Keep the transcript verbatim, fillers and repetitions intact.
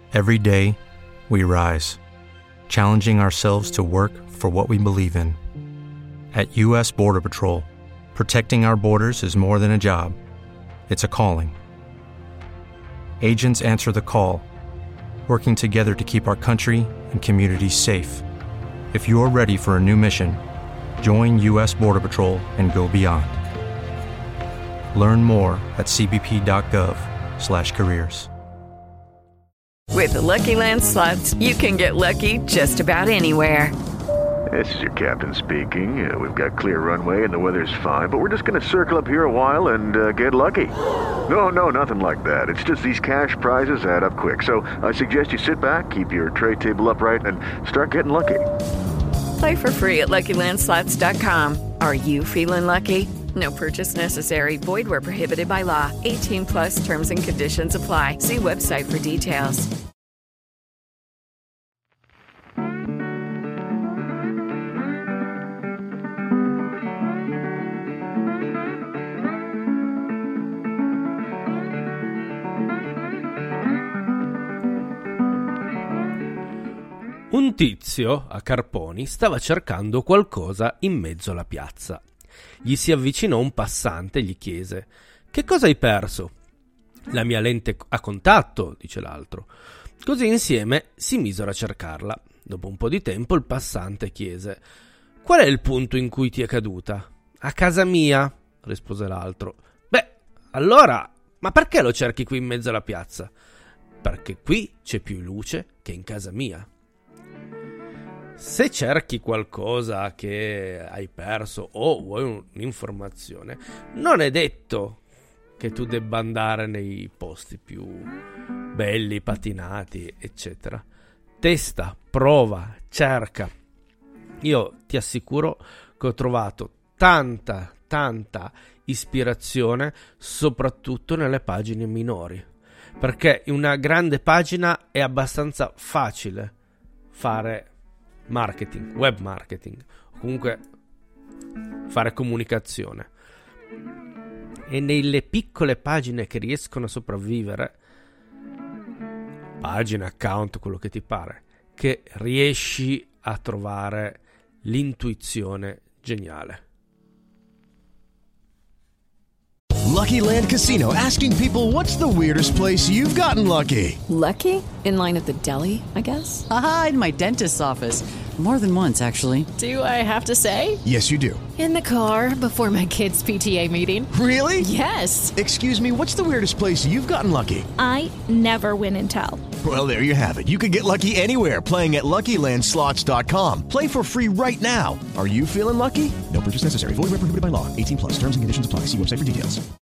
Every day, we rise, challenging ourselves to work for what we believe in. At U S Border Patrol, protecting our borders is more than a job. It's a calling. Agents answer the call, working together to keep our country and communities safe. If you're ready for a new mission, join U S Border Patrol and go beyond. Learn more at c b p dot gov slash careers. With the Lucky Land Slots, you can get lucky just about anywhere. This is your captain speaking. Uh, we've got clear runway and the weather's fine, but we're just going to circle up here a while and uh, get lucky. No, no, nothing like that. It's just these cash prizes add up quick. So I suggest you sit back, keep your tray table upright, and start getting lucky. Play for free at lucky land slots dot com. Are you feeling lucky? No purchase necessary. Void where prohibited by law. eighteen plus terms and conditions apply. See website for details. Un tizio a Carponi stava cercando qualcosa in mezzo alla piazza. Gli si avvicinò un passante e gli chiese: «Che cosa hai perso?» «La mia lente a contatto», dice l'altro. Così insieme si misero a cercarla. Dopo un po' di tempo il passante chiese: «Qual è il punto in cui ti è caduta?» «A casa mia», rispose l'altro. «Beh, allora, ma perché lo cerchi qui in mezzo alla piazza?» «Perché qui c'è più luce che in casa mia». Se cerchi qualcosa che hai perso o vuoi un'informazione, non è detto che tu debba andare nei posti più belli, patinati, eccetera. Testa, prova, cerca. Io ti assicuro che ho trovato tanta, tanta ispirazione, soprattutto nelle pagine minori, perché in una grande pagina è abbastanza facile fare marketing, web marketing, o comunque fare comunicazione. E nelle piccole pagine che riescono a sopravvivere, pagine, account, quello che ti pare, che riesci a trovare l'intuizione geniale. Lucky Land Casino, asking people, what's the weirdest place you've gotten lucky? Lucky? In line at the deli, I guess? Aha, in my dentist's office. More than once, actually. Do I have to say? Yes, you do. In the car before my kids' P T A meeting. Really? Yes. Excuse me, what's the weirdest place you've gotten lucky? I never win and tell. Well, there you have it. You can get lucky anywhere, playing at lucky land slots dot com. Play for free right now. Are you feeling lucky? No purchase necessary. Void where prohibited by law. eighteen plus. Terms and conditions apply. See website for details.